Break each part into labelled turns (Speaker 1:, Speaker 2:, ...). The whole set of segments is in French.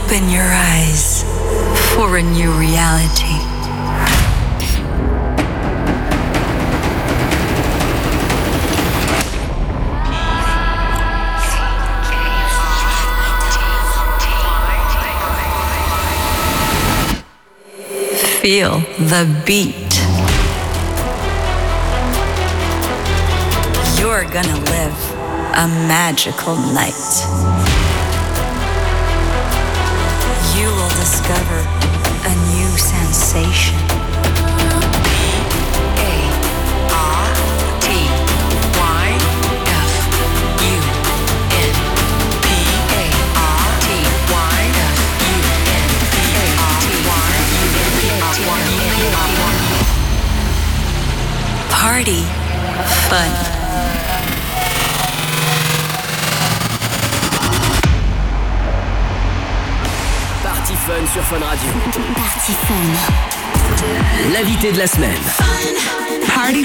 Speaker 1: Open your eyes for a new reality. Feel the beat. You're gonna live a magical night. You will discover a new sensation. Party fun.
Speaker 2: Party Fun sur Fun Radio.
Speaker 3: Party Fun.
Speaker 2: L'invité de la semaine.
Speaker 3: Party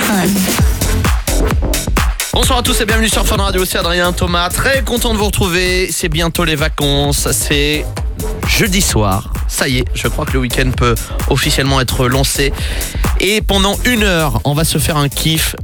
Speaker 3: Fun.
Speaker 4: Bonsoir à tous et bienvenue sur Fun Radio, c'est Adrien Thomas. Très content de vous retrouver, c'est bientôt les vacances, c'est jeudi soir. Ça y est, je crois que le week-end peut officiellement être lancé. Et pendant 1 heure, on va se faire un kiff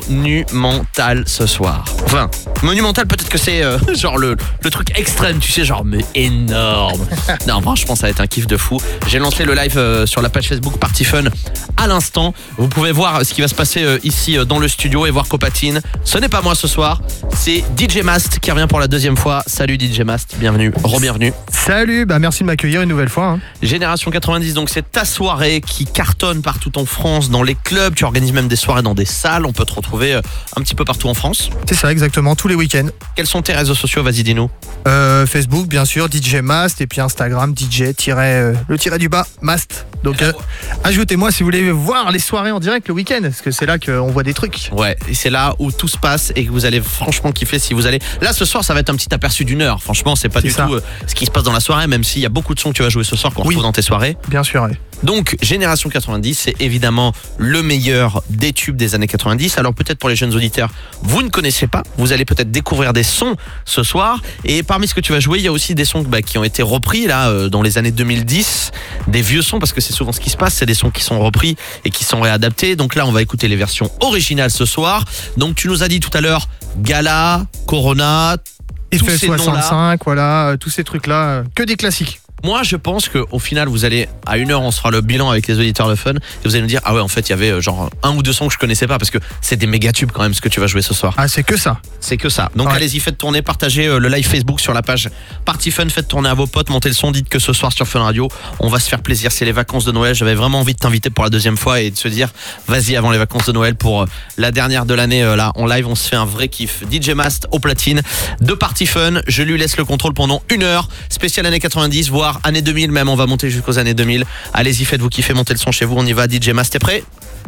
Speaker 4: monumental ce soir. Enfin, monumental, peut-être que c'est genre le truc extrême, tu sais, genre mais énorme. Non, franchement, ça va être un kiff de fou. J'ai lancé le live sur la page Facebook Party Fun à l'instant. Vous pouvez voir ce qui va se passer ici dans le studio et voir qu'au patine. Ce n'est pas moi ce soir, c'est DJ Mast qui revient pour la 2e fois. Salut DJ Mast, bienvenue, re-bienvenue.
Speaker 5: Salut, merci de m'accueillir une nouvelle fois.
Speaker 4: Génération 90, donc c'est ta soirée qui cartonne partout en France, dans les clubs, tu organises même des soirées dans des salles, on peut te retrouver un petit peu partout en France.
Speaker 5: C'est ça, exactement, tous les week-ends.
Speaker 4: Quels sont tes réseaux sociaux, vas-y dis-nous.
Speaker 5: Facebook, bien sûr, DJ Mast, et puis Instagram, DJ-le-du-bas, Mast. Donc ajoutez-moi si vous voulez voir les soirées en direct le week-end, parce que c'est là qu'on voit des trucs.
Speaker 4: Ouais, et c'est là où tout se passe et que vous allez franchement kiffer si vous allez... Là ce soir ça va être un petit aperçu d'1 heure, franchement c'est pas du tout ce qui se passe dans la soirée, même s'il y a beaucoup de sons que tu vas jouer ce soir qu'on retrouve dans tes soirées.
Speaker 5: Bien sûr, oui.
Speaker 4: Donc Génération 90, c'est évidemment le meilleur des tubes des années 90. Alors peut-être pour les jeunes auditeurs, vous ne connaissez pas, vous allez peut-être découvrir des sons ce soir. Et parmi ce que tu vas jouer, il y a aussi des sons qui ont été repris là dans les années 2010, des vieux sons, parce que c'est souvent ce qui se passe, c'est des sons qui sont repris et qui sont réadaptés. Donc là on va écouter les versions originales ce soir. Donc tu nous as dit tout à l'heure Gala, Corona,
Speaker 5: Effet 65, voilà, tous ces trucs là, que des classiques.
Speaker 4: Moi, je pense qu'au final, vous allez, à 1 heure, on se fera le bilan avec les auditeurs de Fun, et vous allez nous dire, ah ouais, en fait, il y avait genre 1 ou 2 sons que je connaissais pas, parce que c'est des méga tubes quand même ce que tu vas jouer ce soir.
Speaker 5: Ah, c'est que ça.
Speaker 4: C'est que ça. Donc allez-y, faites tourner, partagez le live Facebook sur la page Party Fun, faites tourner à vos potes, montez le son, dites que ce soir sur Fun Radio, on va se faire plaisir, c'est les vacances de Noël. J'avais vraiment envie de t'inviter pour la 2e fois et de se dire, vas-y avant les vacances de Noël pour la dernière de l'année, là, en live, on se fait un vrai kiff. DJ Mast au platine de Party Fun, je lui laisse le contrôle pendant 1 heure, spécial années 90, voire années 2000 même. On va monter jusqu'aux années 2000. Allez-y, faites-vous kiffer, montez le son chez vous. On y va. DJ Mast, t'es prêt ?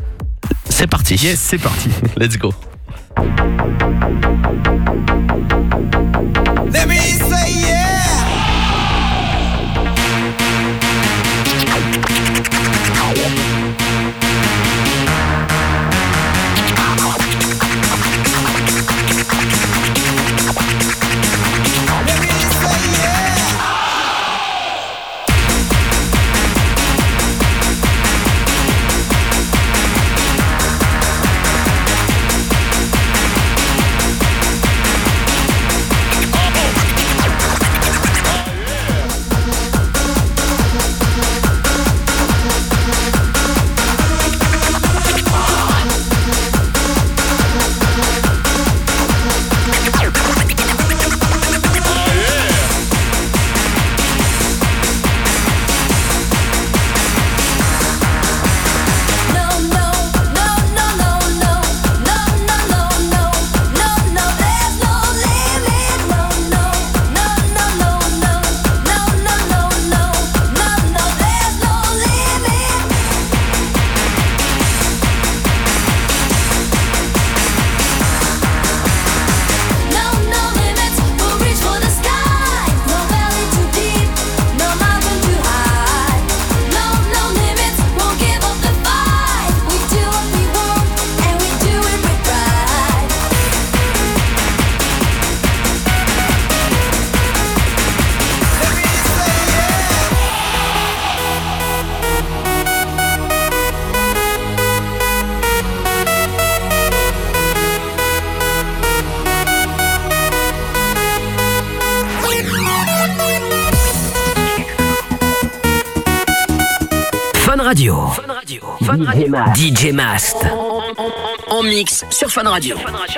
Speaker 4: C'est parti.
Speaker 5: Yes, c'est parti.
Speaker 4: Let's go.
Speaker 6: Let me say yeah.
Speaker 2: Radio. DJ Mast. En mix sur Fun Radio.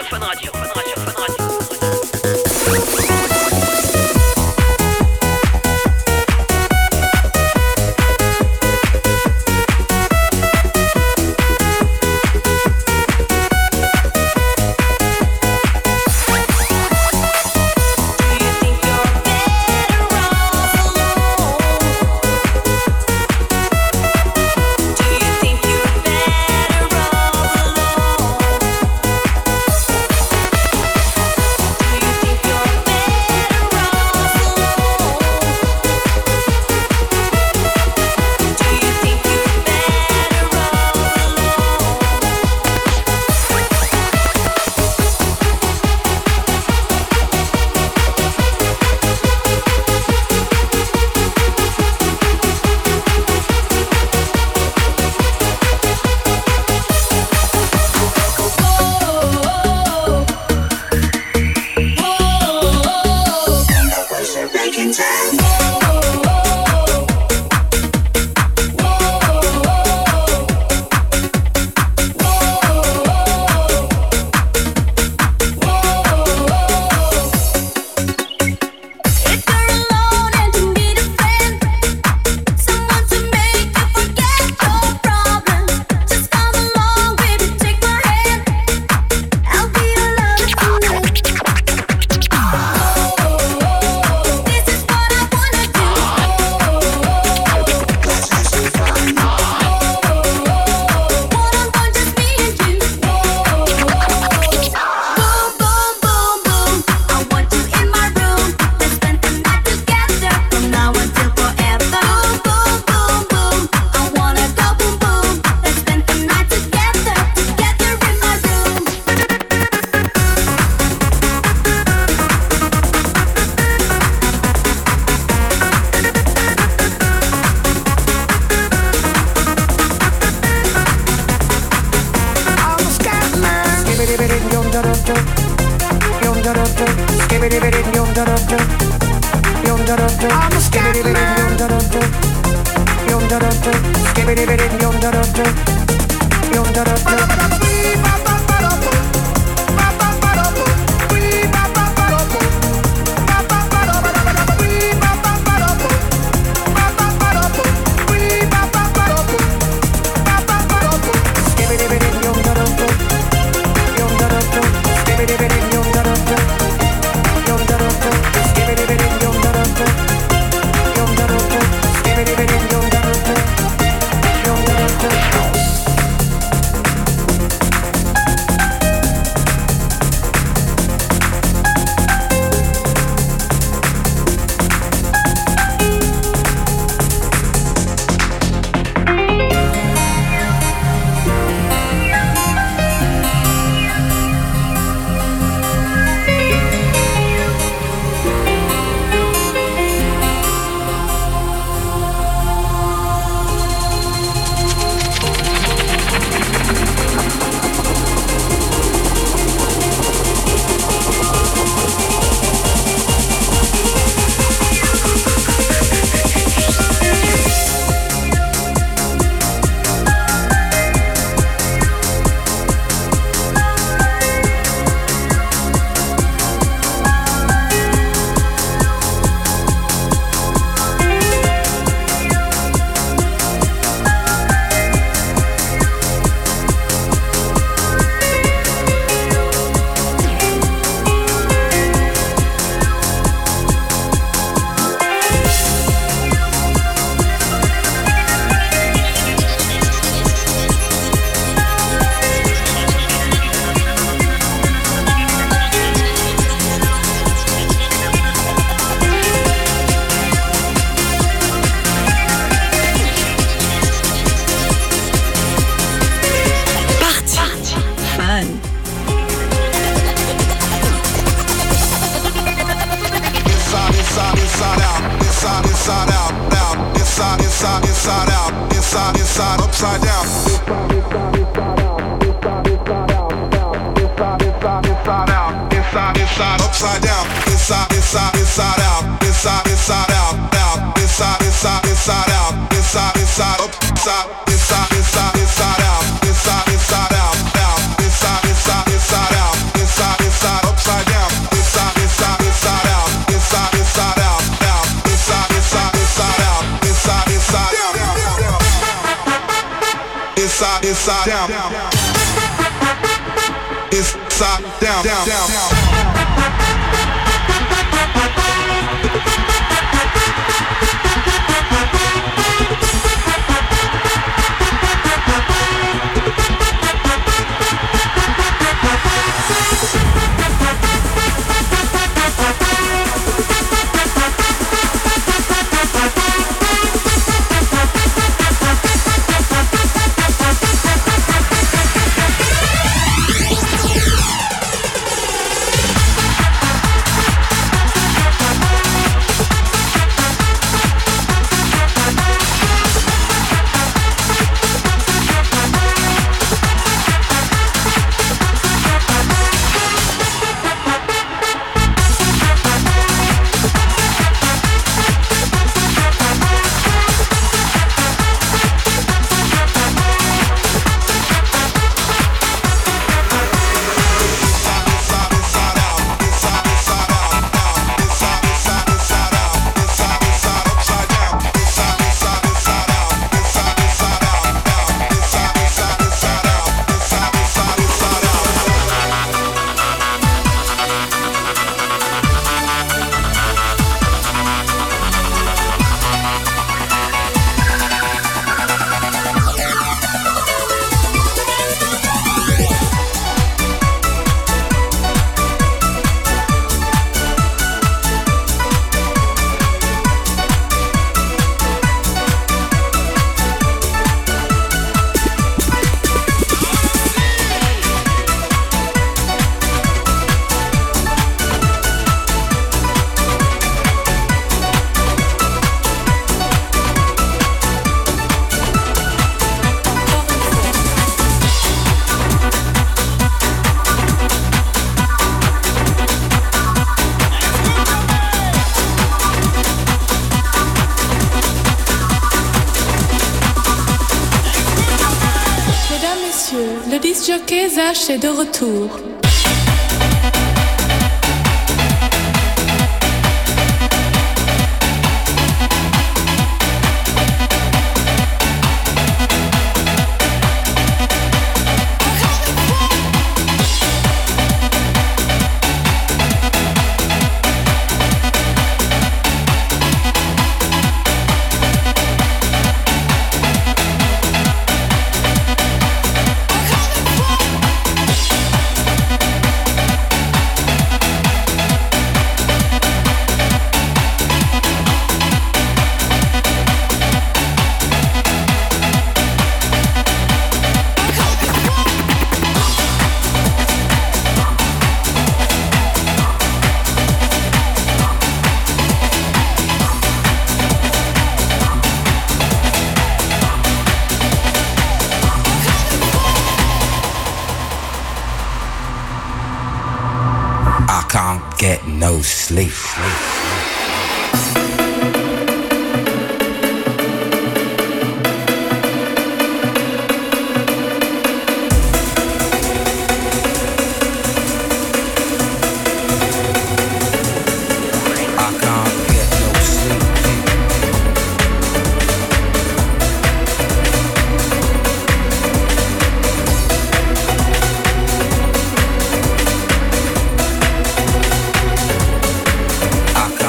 Speaker 6: Inside, upside down. Inside, upside down. Inside out. Inside out. Inside, up, inside. inside down, inside down, down, down.
Speaker 7: Le disc-jockey Zach est de retour.
Speaker 8: Get no sleep. I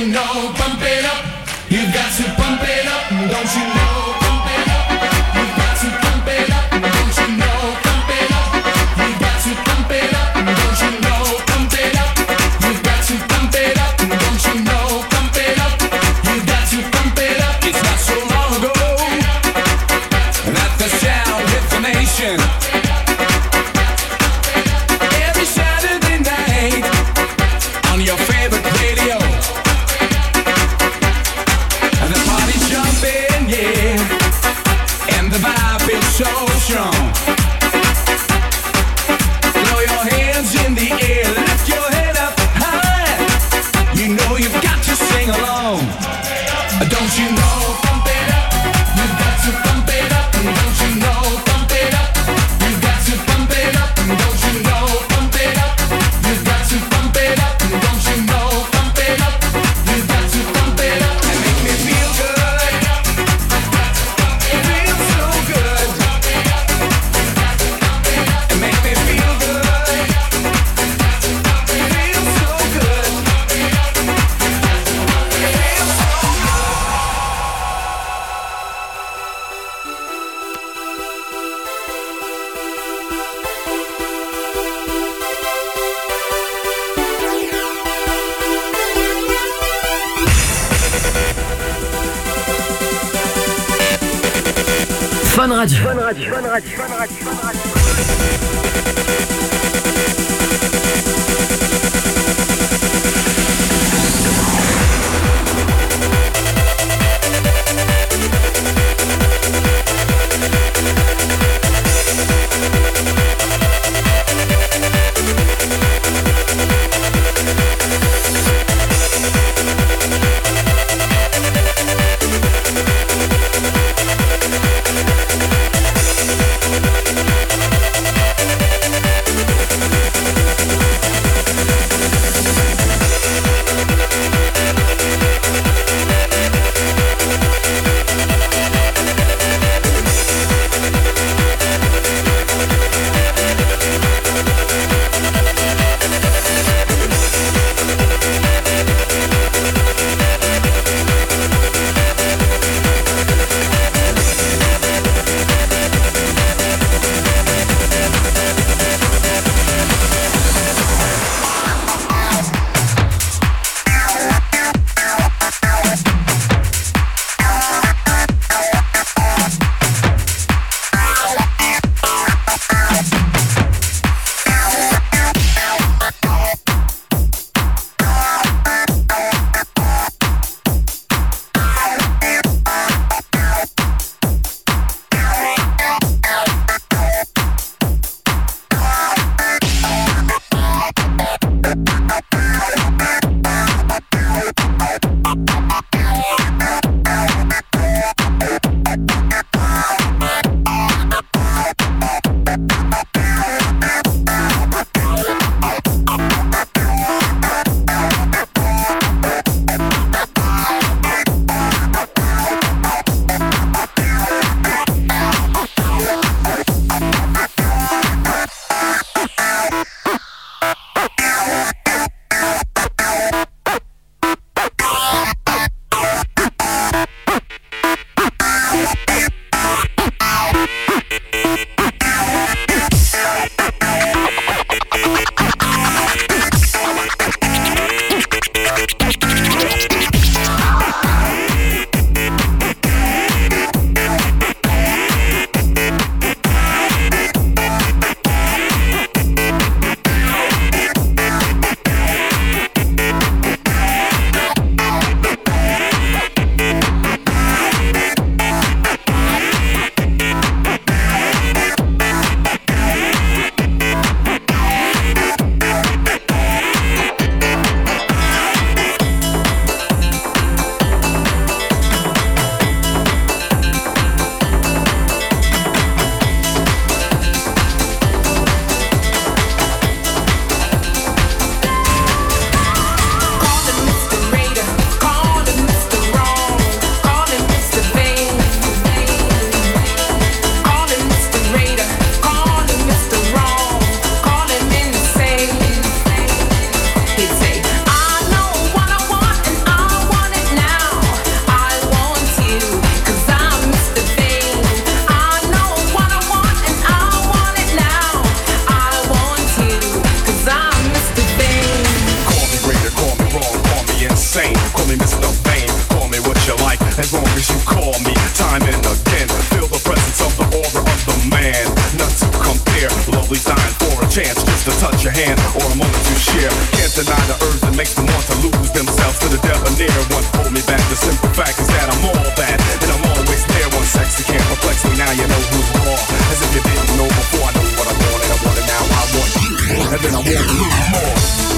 Speaker 6: know, pump it up. You got to pump it up, don't you know? Pump it up. You got to pump it up, don't you know? Pump it up. You got to pump it up, don't you know? Pump it up. You got to pump it up, don't you know? Pump it up. You got to pump it up.
Speaker 9: It's not so long ago that the sound hit the nation. Every Saturday night on your favorite radio, and the party's jumping, yeah, and the vibe is so strong. Throw your hands in the air, lift your head up high. You know you've got to sing along. Don't you know?
Speaker 6: Pump it up. You got to pump it up, don't you know? Pump it up. You got to pump it up, don't you know? Pump it up. You got to pump it up, don't you know? Pump it up. You got to pump it up
Speaker 9: And make me feel good. It feels so good. And make me feel good. It feels so good.
Speaker 2: Fun Radio.
Speaker 9: deny the urge that makes them want to lose themselves to the debonair one. Hold me back, the simple fact is that I'm all bad, and I'm always there. One sexy can't perplex me, now you know who's raw. As if you didn't know before, I know what I want, and I want it now. I want you, and then I want to lose more.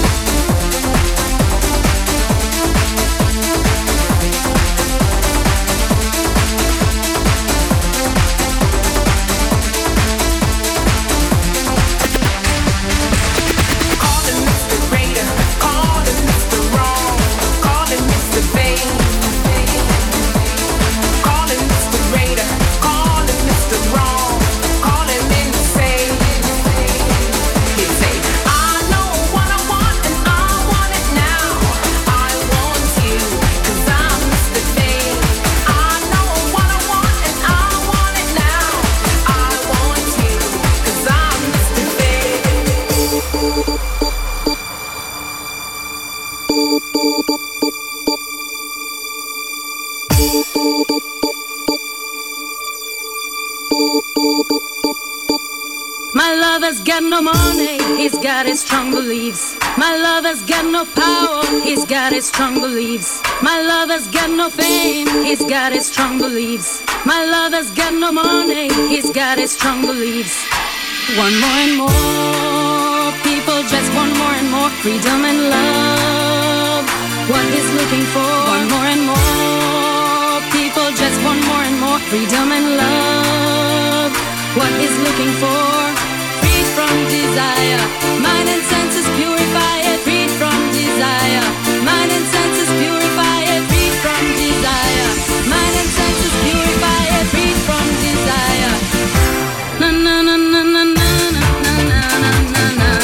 Speaker 10: My lover's got no money, he's got his strong beliefs. My lover's got no power, he's got his strong beliefs. My lover's got no fame, he's got his strong beliefs. My lover's got no money, he's got his strong beliefs. One more and more, people just want more and more freedom and love. What he's looking for, one more and more, people just want more and more freedom and love. What he's looking for, freed from desire, mind and senses purify it, freed from desire, mind and senses purify it, freed from desire, mind and senses purify it, freed from desire. Na na na na na na na na na na na.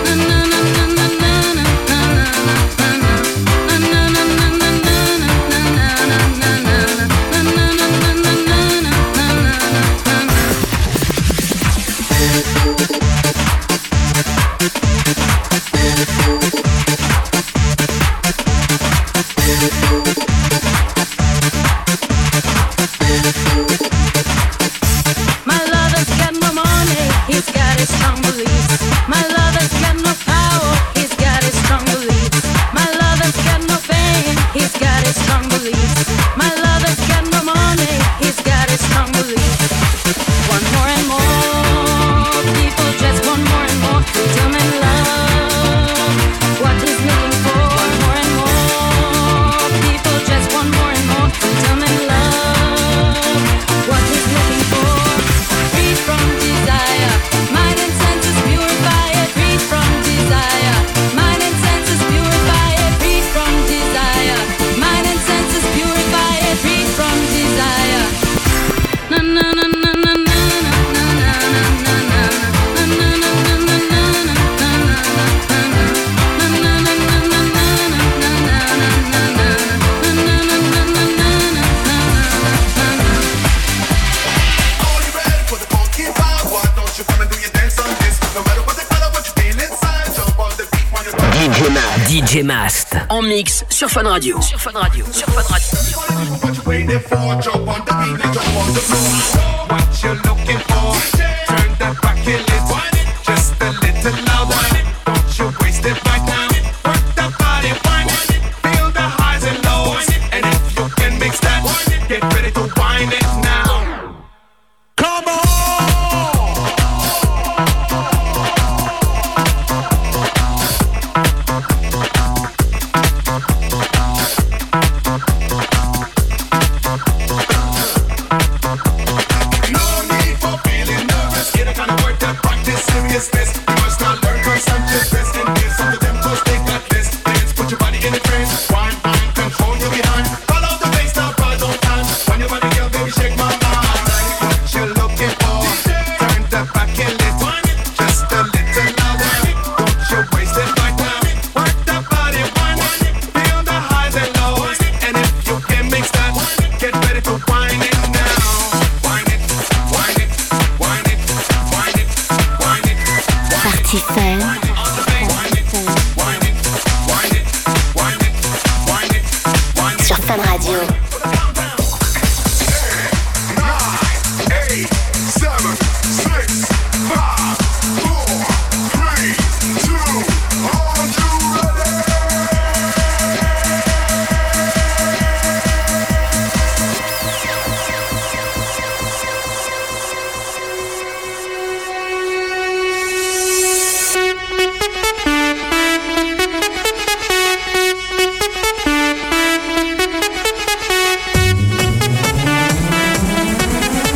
Speaker 2: DJ Mast en mix sur Fun Radio. Sur Fun Radio. Sur Fun Radio.
Speaker 9: What you looking for? Turn that back a little, just a little louder. Don't you waste it right now. Work that body, wind it. Feel the highs and lows, and if you can mix that, get ready to wind it now. Come on. Baby,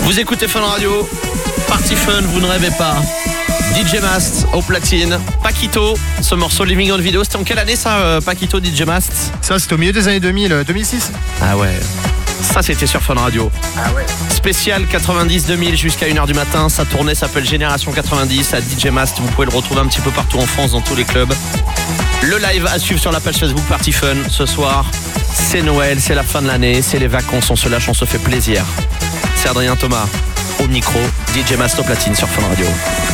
Speaker 4: Vous écoutez Fun Radio, Party Fun, vous ne rêvez pas. DJ Mast au platine, Paquito, ce morceau Living on Video, c'était en quelle année ça, Paquito, DJ Mast?
Speaker 5: Ça, c'était au milieu des années 2000, 2006.
Speaker 4: Ah ouais, ça c'était sur Fun Radio.
Speaker 5: Ah ouais.
Speaker 4: Spécial 90-2000 jusqu'à 1h du matin, sa tournée s'appelle Génération 90 à DJ Mast, vous pouvez le retrouver un petit peu partout en France, dans tous les clubs. Le live à suivre sur la page Facebook Party Fun ce soir. C'est Noël, c'est la fin de l'année, c'est les vacances, on se lâche, on se fait plaisir. C'est Adrien Thomas au micro, DJ Mast au platine sur Fun Radio.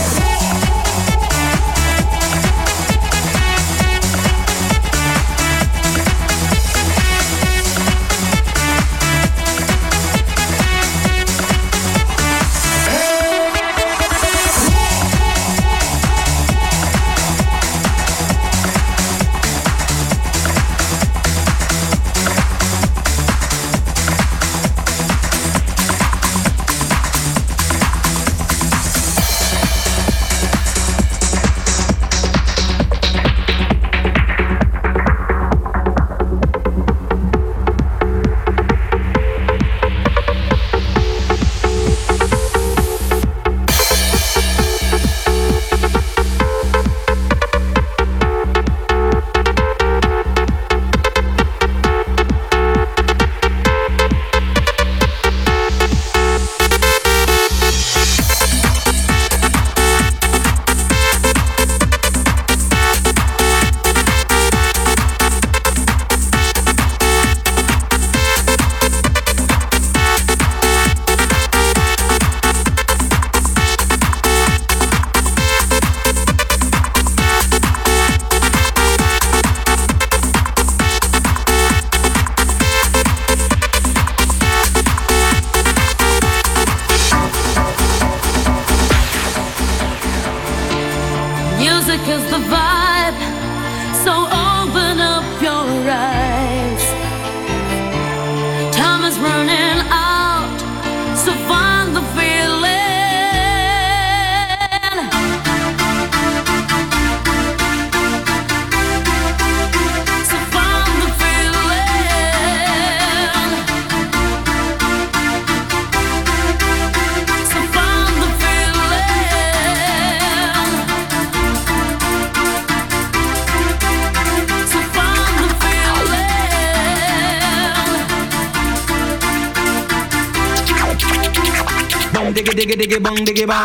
Speaker 11: diggy diggy bong diggy bong.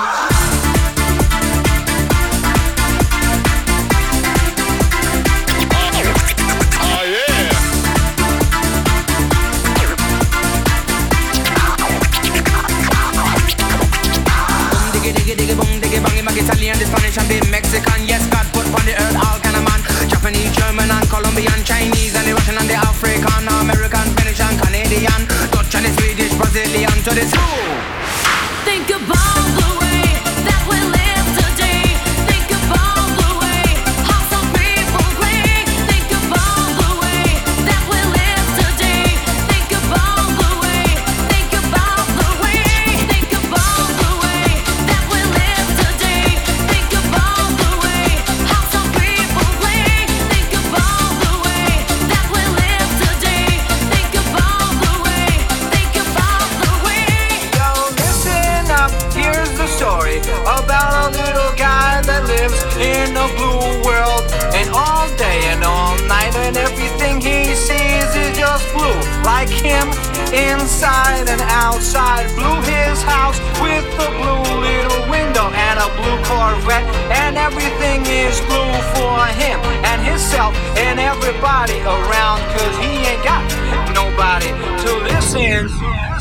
Speaker 11: Italian, the Spanish and the Mexican. Yes, God put on the earth all kind of man. Japanese, German and Colombian, Chinese and the Russian and the African, American, Finnish and Canadian, Dutch and the Swedish, Brazilian to the zoo.
Speaker 10: Think about the way that we live today. Think about the way how some people play. Think about the way that we live today. Think about the way. Think about the way. Think about the way that we live today. Think about the way how some people play. Think about the way that we live today. Think about the way. Think about the way.
Speaker 12: Yo, listen up, here's the story about a little guy that lives in a blue world. And all day and all night and everything he sees is just blue. Like him, inside and outside. Blue his house with a blue little window and a blue Corvette. And everything is blue for him and himself and everybody around. Cause he ain't got nobody to listen.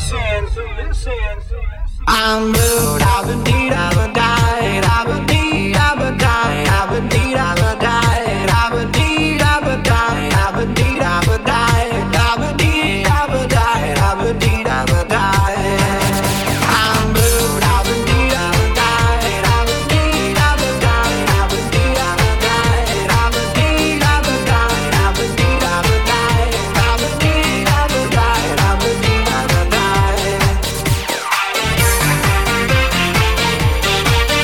Speaker 12: I'm blue, I've been deed, I've been died, I've been deed, I've been died, I've been deed, I've been died, I've been deed, I've been died, I've been deed, I've been died, I've been deed, I've been died, I've been deed, I've been died. I'm blue, I've been deed, I've been died, I've been deed, I've been died, I've been deed, I've been died, I've been deed, I've been died, I've been deed, I've been died, I've been deed, I've been died, I've been deed, I've been died.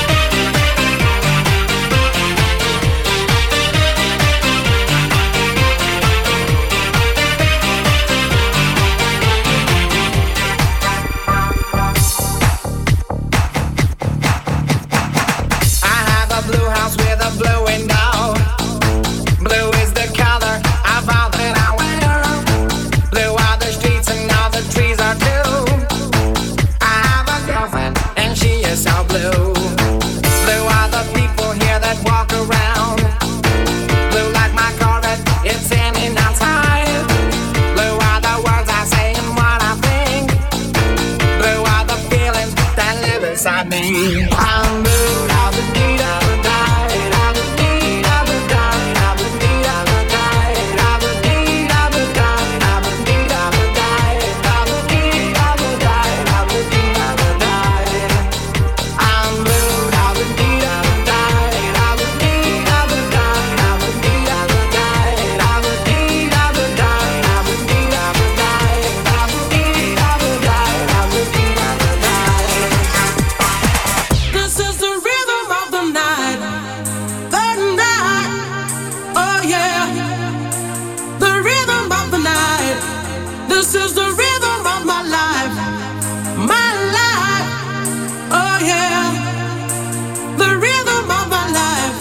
Speaker 12: got me. I'm blue, I'm the need of the night. I'm the need of the night. I'm the need of the night. I'm the need of the night. I'm the need of the night. I'm the need of the night. I'm the need of the night. I'm blue, I'm the need of the night. I'm the need of the night. I'm the need of the night. I'm the need of the night. I'm the need of the night. I'm the need of the night. I'm the need of the night.
Speaker 6: This is the rhythm of the night. The night. Oh yeah. The rhythm of the night. This is the rhythm of my life. My life. Oh yeah. The rhythm of my life.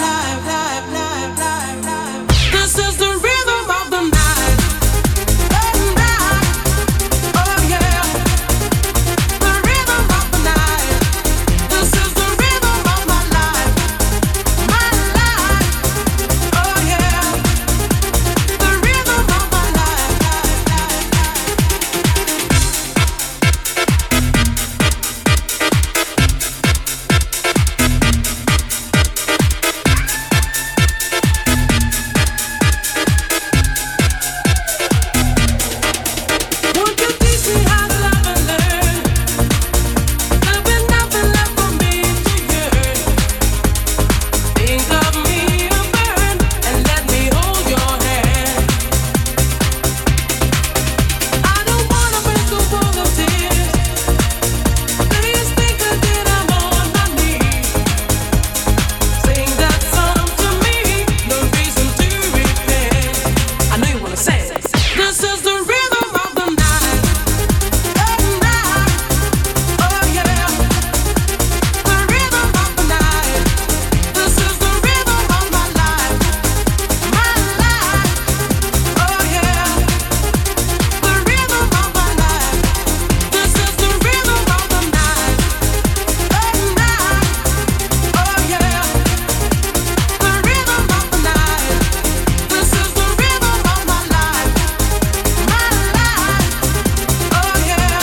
Speaker 6: This is the rhythm of the night. The night. Oh yeah. The rhythm of the night. This is the rhythm of my life. My life. Oh yeah. The rhythm of my life. Won't you teach me how to love and learn? There'll be nothing left for me to yearn. Think of me a burn and let me hold your hand. I don't wanna break the wall of tears. Please think again, I'm on my knees. Sing that song to me, no reason to repent. I know you wanna say it. This is the rhythm of the night. The night. Oh yeah. The rhythm of the night. This is the rhythm of my life. My life. Oh yeah. The rhythm of my life. This is the rhythm of the night. The night. Oh yeah. The rhythm of the night. This is the rhythm of my life. My life. Oh yeah.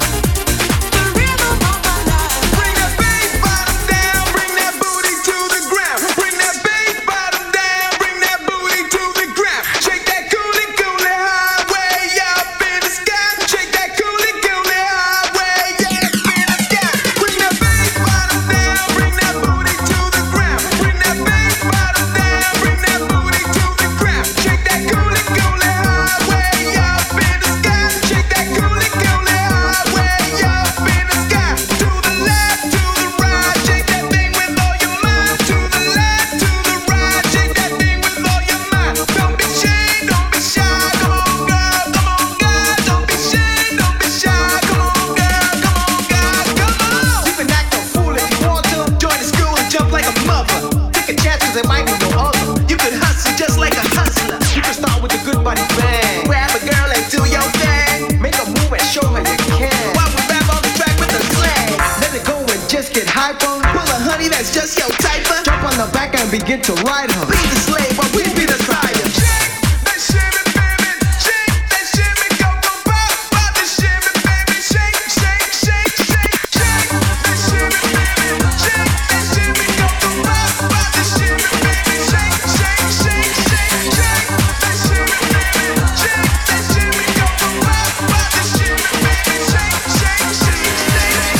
Speaker 6: The rhythm of my life.
Speaker 9: Bring that bass bottom down, bring that booty to the ground. Bring that bass bottom down, bring that booty to the ground. Shake that coolie coolie high way up in the sky. Shake that coolie coolie high way up in the sky. Bring that bass bottom down, bring that booty to the ground. Bring that bass bottom down, bring that booty to the ground. Shake that coolie coolie high way up in the sky. Shake that coolie coolie high way up in the sky. To the left, to the right, shake that thing with all your mind. To the left, to the right, shake that thing with all your mind. Don't be shy, don't be shy. Come on, girl, come on, girl. Don't be shy, don't be shy. Come on, girl, come on, girl, come on.
Speaker 12: You can act a fool if you want to. Join the school and jump like a mother. Take a chance 'cause it might be no other. You can hustle just like a hustler. You can start with a good body bang. Grab a girl and do your thing. Make a move and show her you can. While we rap on the track with the slang. Let it go and just get hyper. Pull a honey that's just your type. Jump on the back and begin to ride her. Be the slave while we be the sire.
Speaker 9: Shake that shimmy, baby. Shake that shimmy, go go pop, pop the shimmy, baby. Shake, shake, shake, shake, shake that shimmy, baby. Shake that shimmy, go go pop, pop the shimmy, baby. Shake, shake, shake, shake, shake that shimmy, baby. Shake that shimmy, go go pop, pop the shimmy, baby. Shake, shake, shake, shake.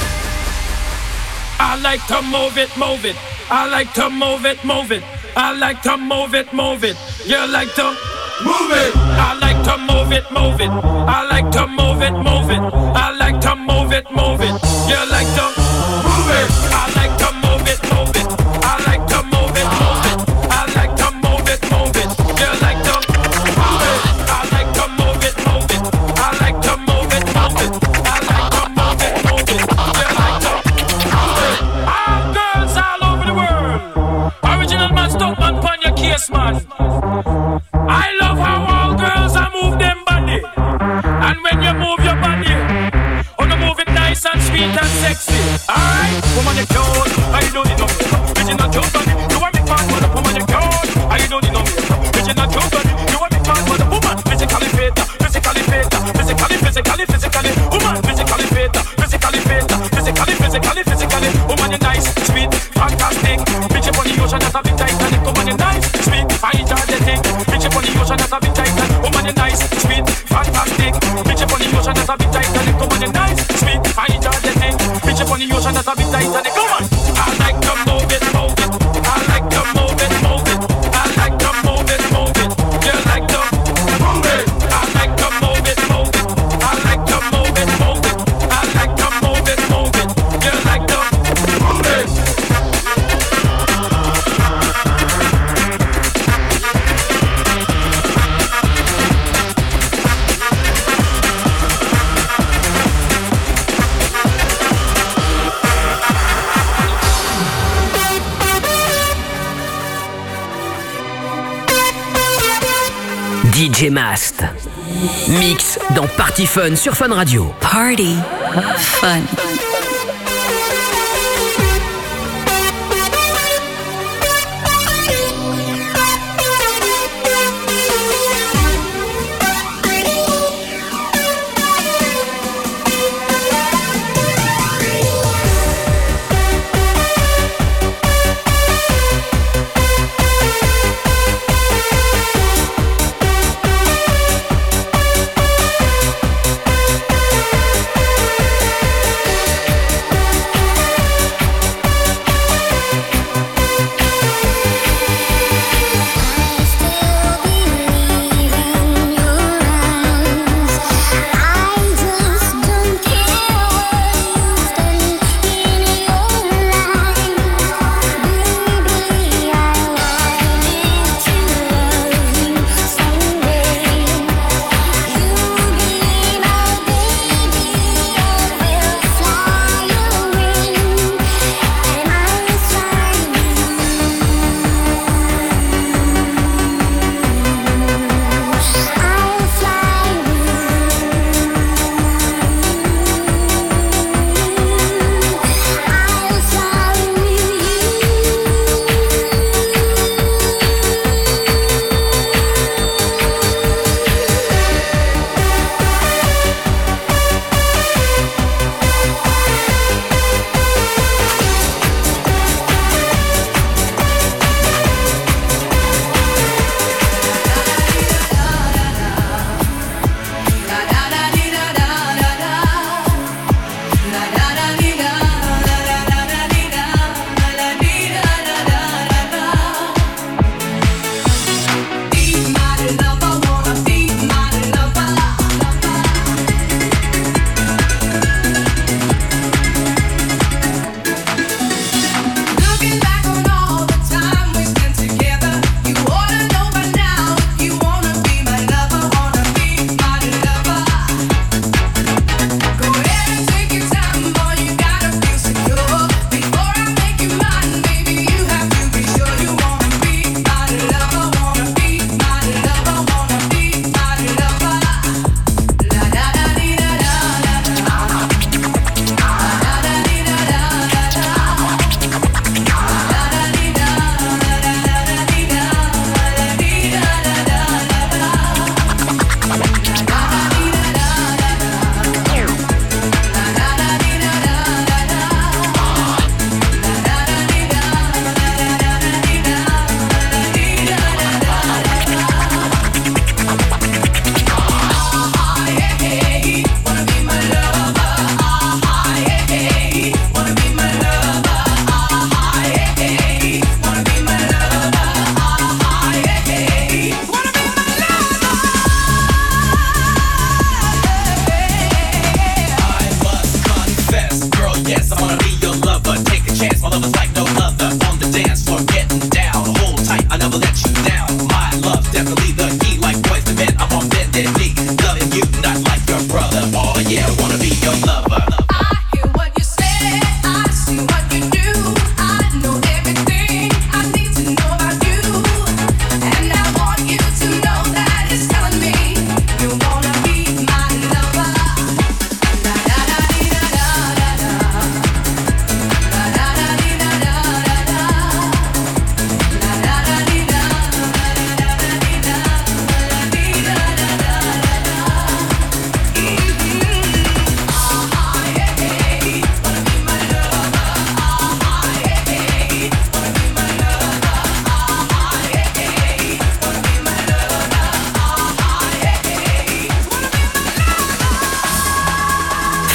Speaker 13: I like to move it, move it. I like to move it, move it. I like to move it, move it. You like to move it. I like to move it, move it. I like to move it, move it. I like to move it, move it. You like to move it. I like to move it, move it. I like to move it, move it. I like to move it, move it. You like to move it. I like to move it, move it. I like to move it, move it. I like to move it, move it. You like to move it. All girls all over the world. Original man, stop man, pon your case, man. I love how all girls are move them body. And when you move your body, oh, you move it nice and sweet and sexy. Alright, woman, you cute. I don't need no makeup. Original cute body. You want me fast, woman, you cute. I don't need no makeup. Original cute body. You want me fast, woman, physically fit, physically fit, physically, physically, physically, woman, physically fit, physically fit, physically, physically, physically. when you're nice, sweet, I enjoy the thing. Bitch up on the ocean, that's a bit tight, and it come on. I like to move it, move it. I like to move it, move it. I like to move it, move it. You like to move it. I like to move it, move it. I like to move it, move it. I like to move it, move it. You like to move it.
Speaker 2: DJ Mast. Mix dans Party Fun sur Fun Radio.
Speaker 1: Party Fun.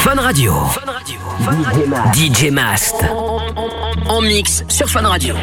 Speaker 2: Fun Radio. DJ Mast. En mix sur Fun Radio.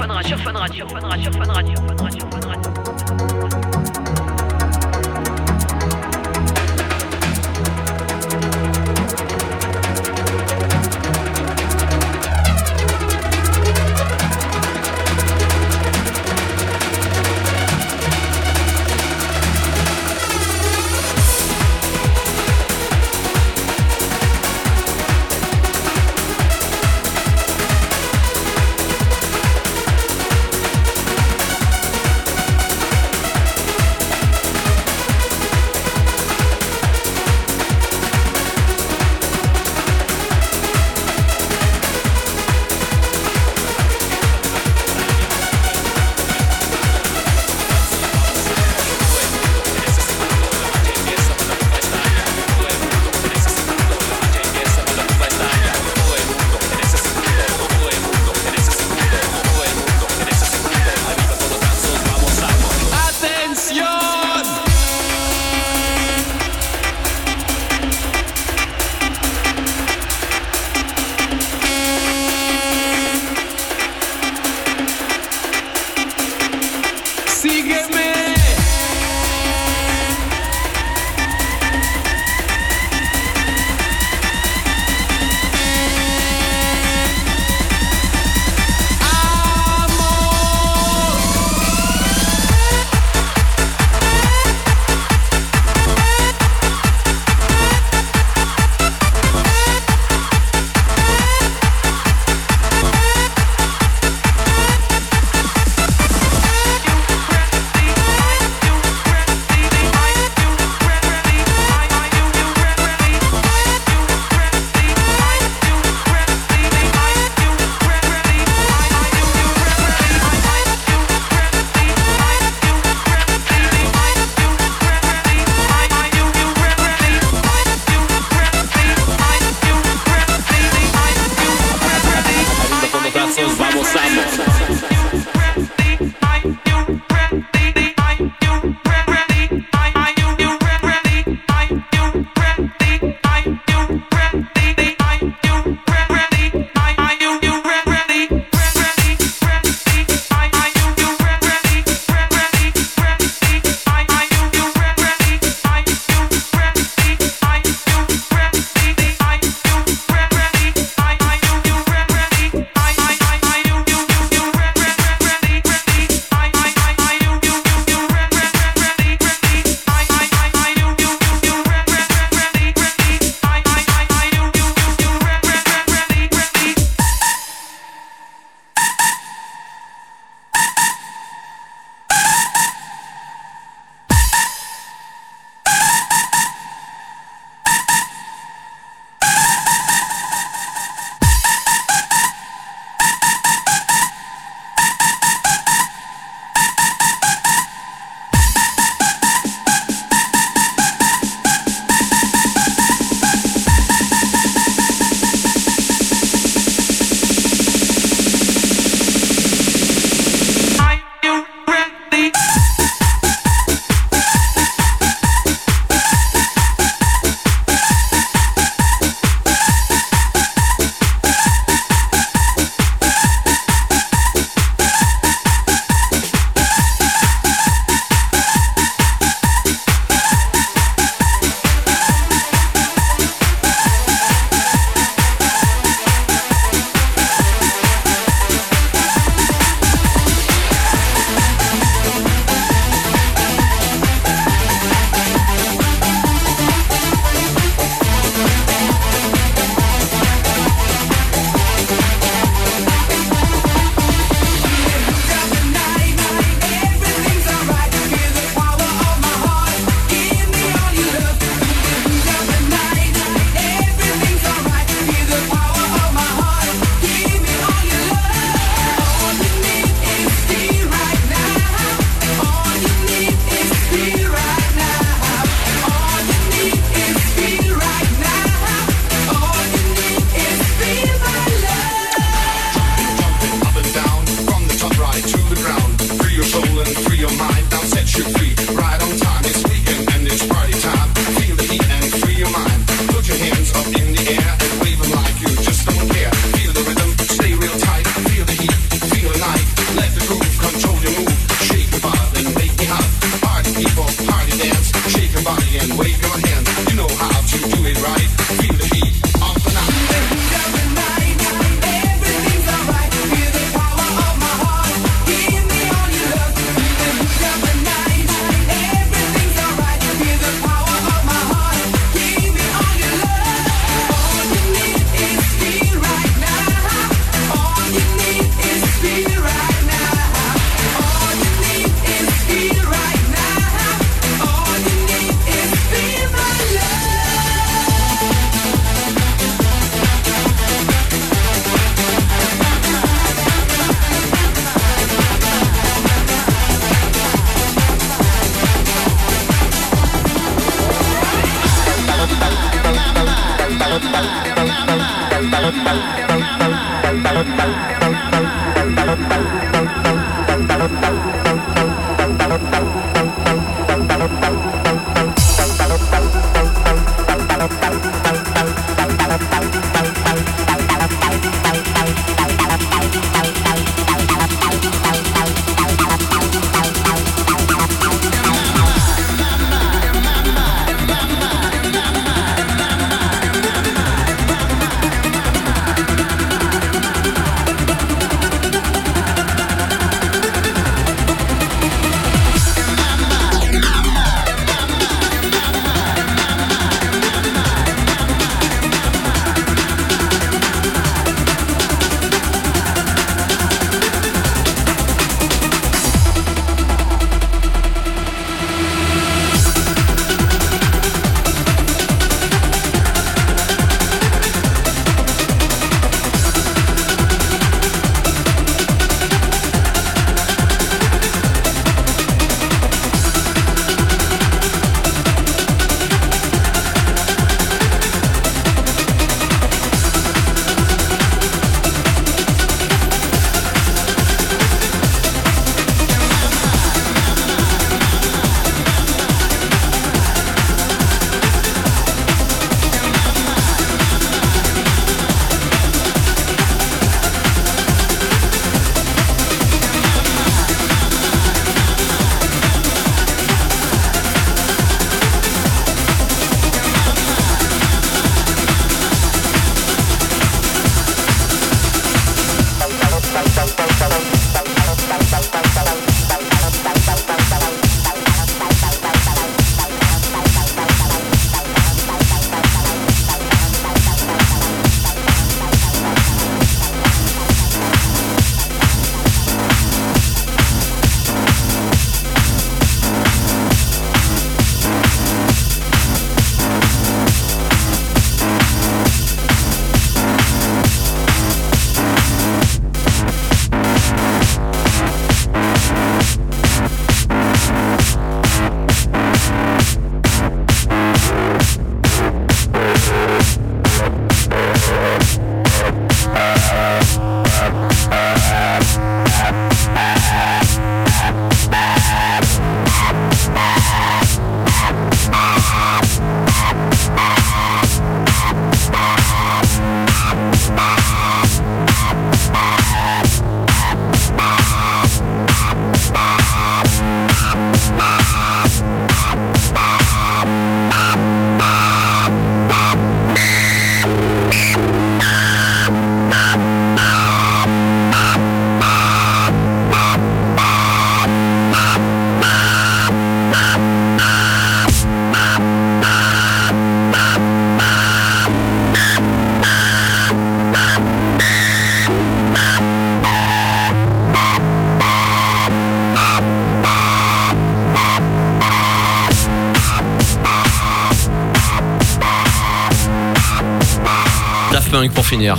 Speaker 4: Pour finir.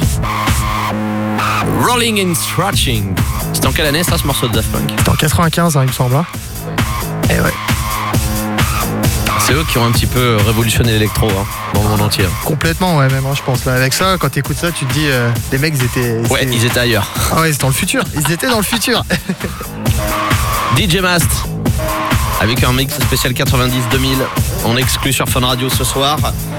Speaker 4: Rolling and Scratching. C'était en quelle année ça, ce morceau de Daft Punk?
Speaker 5: C'était en 95, hein, il me semble. Et ouais.
Speaker 4: C'est eux qui ont un petit peu révolutionné l'électro dans le monde entier.
Speaker 5: Complètement, ouais, même, je pense. Là, avec ça, quand t'écoutes ça, tu te dis, les mecs, ils étaient.
Speaker 4: Ouais, ils étaient ailleurs.
Speaker 5: Ah ouais, c'est dans le futur. Ils étaient dans le futur.
Speaker 4: DJ Mast, avec un mix spécial 90-2000. On exclut sur Fun Radio ce soir.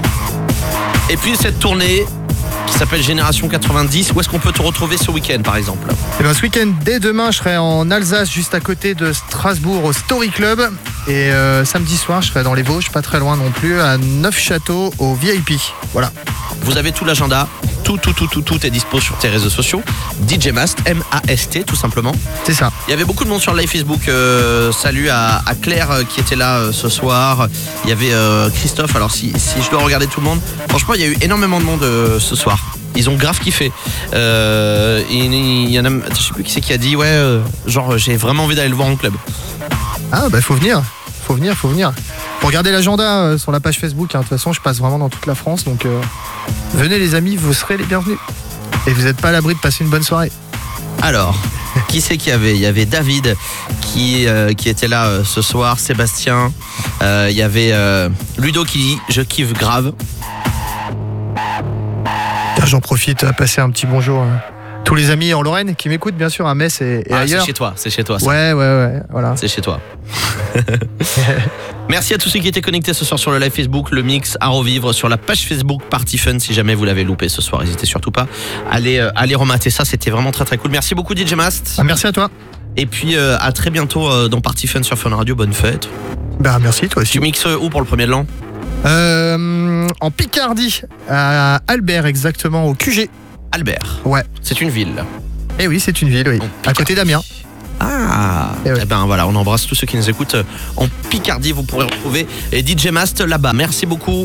Speaker 4: Et puis cette tournée qui s'appelle Génération 90. Où est-ce qu'on peut te retrouver ce week-end, par exemple?
Speaker 5: Eh ben, ce week-end, dès demain, je serai en Alsace, juste à côté de Strasbourg, au Story Club. Et samedi soir, je serai dans les Vosges, pas très loin non plus, à Neufchâteau, au VIP. Voilà.
Speaker 4: Vous avez tout l'agenda. Tout est dispo sur tes réseaux sociaux. DJ Mast, M-A-S-T, tout simplement.
Speaker 5: C'est ça.
Speaker 4: Il y avait beaucoup de monde sur le live Facebook. Salut à Claire qui était là ce soir. Il y avait Christophe. Alors si je dois regarder tout le monde, franchement, il y a eu énormément de monde ce soir. Ils ont grave kiffé. Il y en a, je sais plus qui c'est qui a dit, genre j'ai vraiment envie d'aller le voir en club.
Speaker 5: Ah bah faut venir. Faut venir. Pour regarder l'agenda sur la page Facebook, de toute façon je passe vraiment dans toute la France, donc venez les amis, vous serez les bienvenus. Et vous n'êtes pas à l'abri de passer une bonne soirée.
Speaker 4: Alors, qui c'est qu'il y avait? Il y avait David qui était là ce soir, Sébastien, il y avait Ludo qui dit je kiffe grave.
Speaker 5: J'en profite à passer un petit bonjour à tous les amis en Lorraine qui m'écoutent, bien sûr, à Metz et ailleurs.
Speaker 4: C'est chez toi. Ça.
Speaker 5: Ouais, voilà.
Speaker 4: C'est chez toi. Merci à tous ceux qui étaient connectés ce soir sur le live Facebook, le mix à revivre sur la page Facebook Party Fun. Si jamais vous l'avez loupé ce soir, n'hésitez surtout pas à aller remater ça. C'était vraiment très très cool. Merci beaucoup DJ Mast.
Speaker 5: Merci à toi.
Speaker 4: Et puis à très bientôt dans Party Fun sur Fun Radio. Bonne fête.
Speaker 5: Merci toi aussi.
Speaker 4: Tu mixes où pour le premier de l'an?
Speaker 5: En Picardie, à Albert exactement, au QG.
Speaker 4: Albert.
Speaker 5: Ouais.
Speaker 4: C'est une ville.
Speaker 5: Eh oui, c'est une ville, oui. À côté d'Amiens.
Speaker 4: Ah, eh ben voilà, on embrasse tous ceux qui nous écoutent en Picardie. Vous pourrez retrouver DJ Mast là-bas. Merci beaucoup.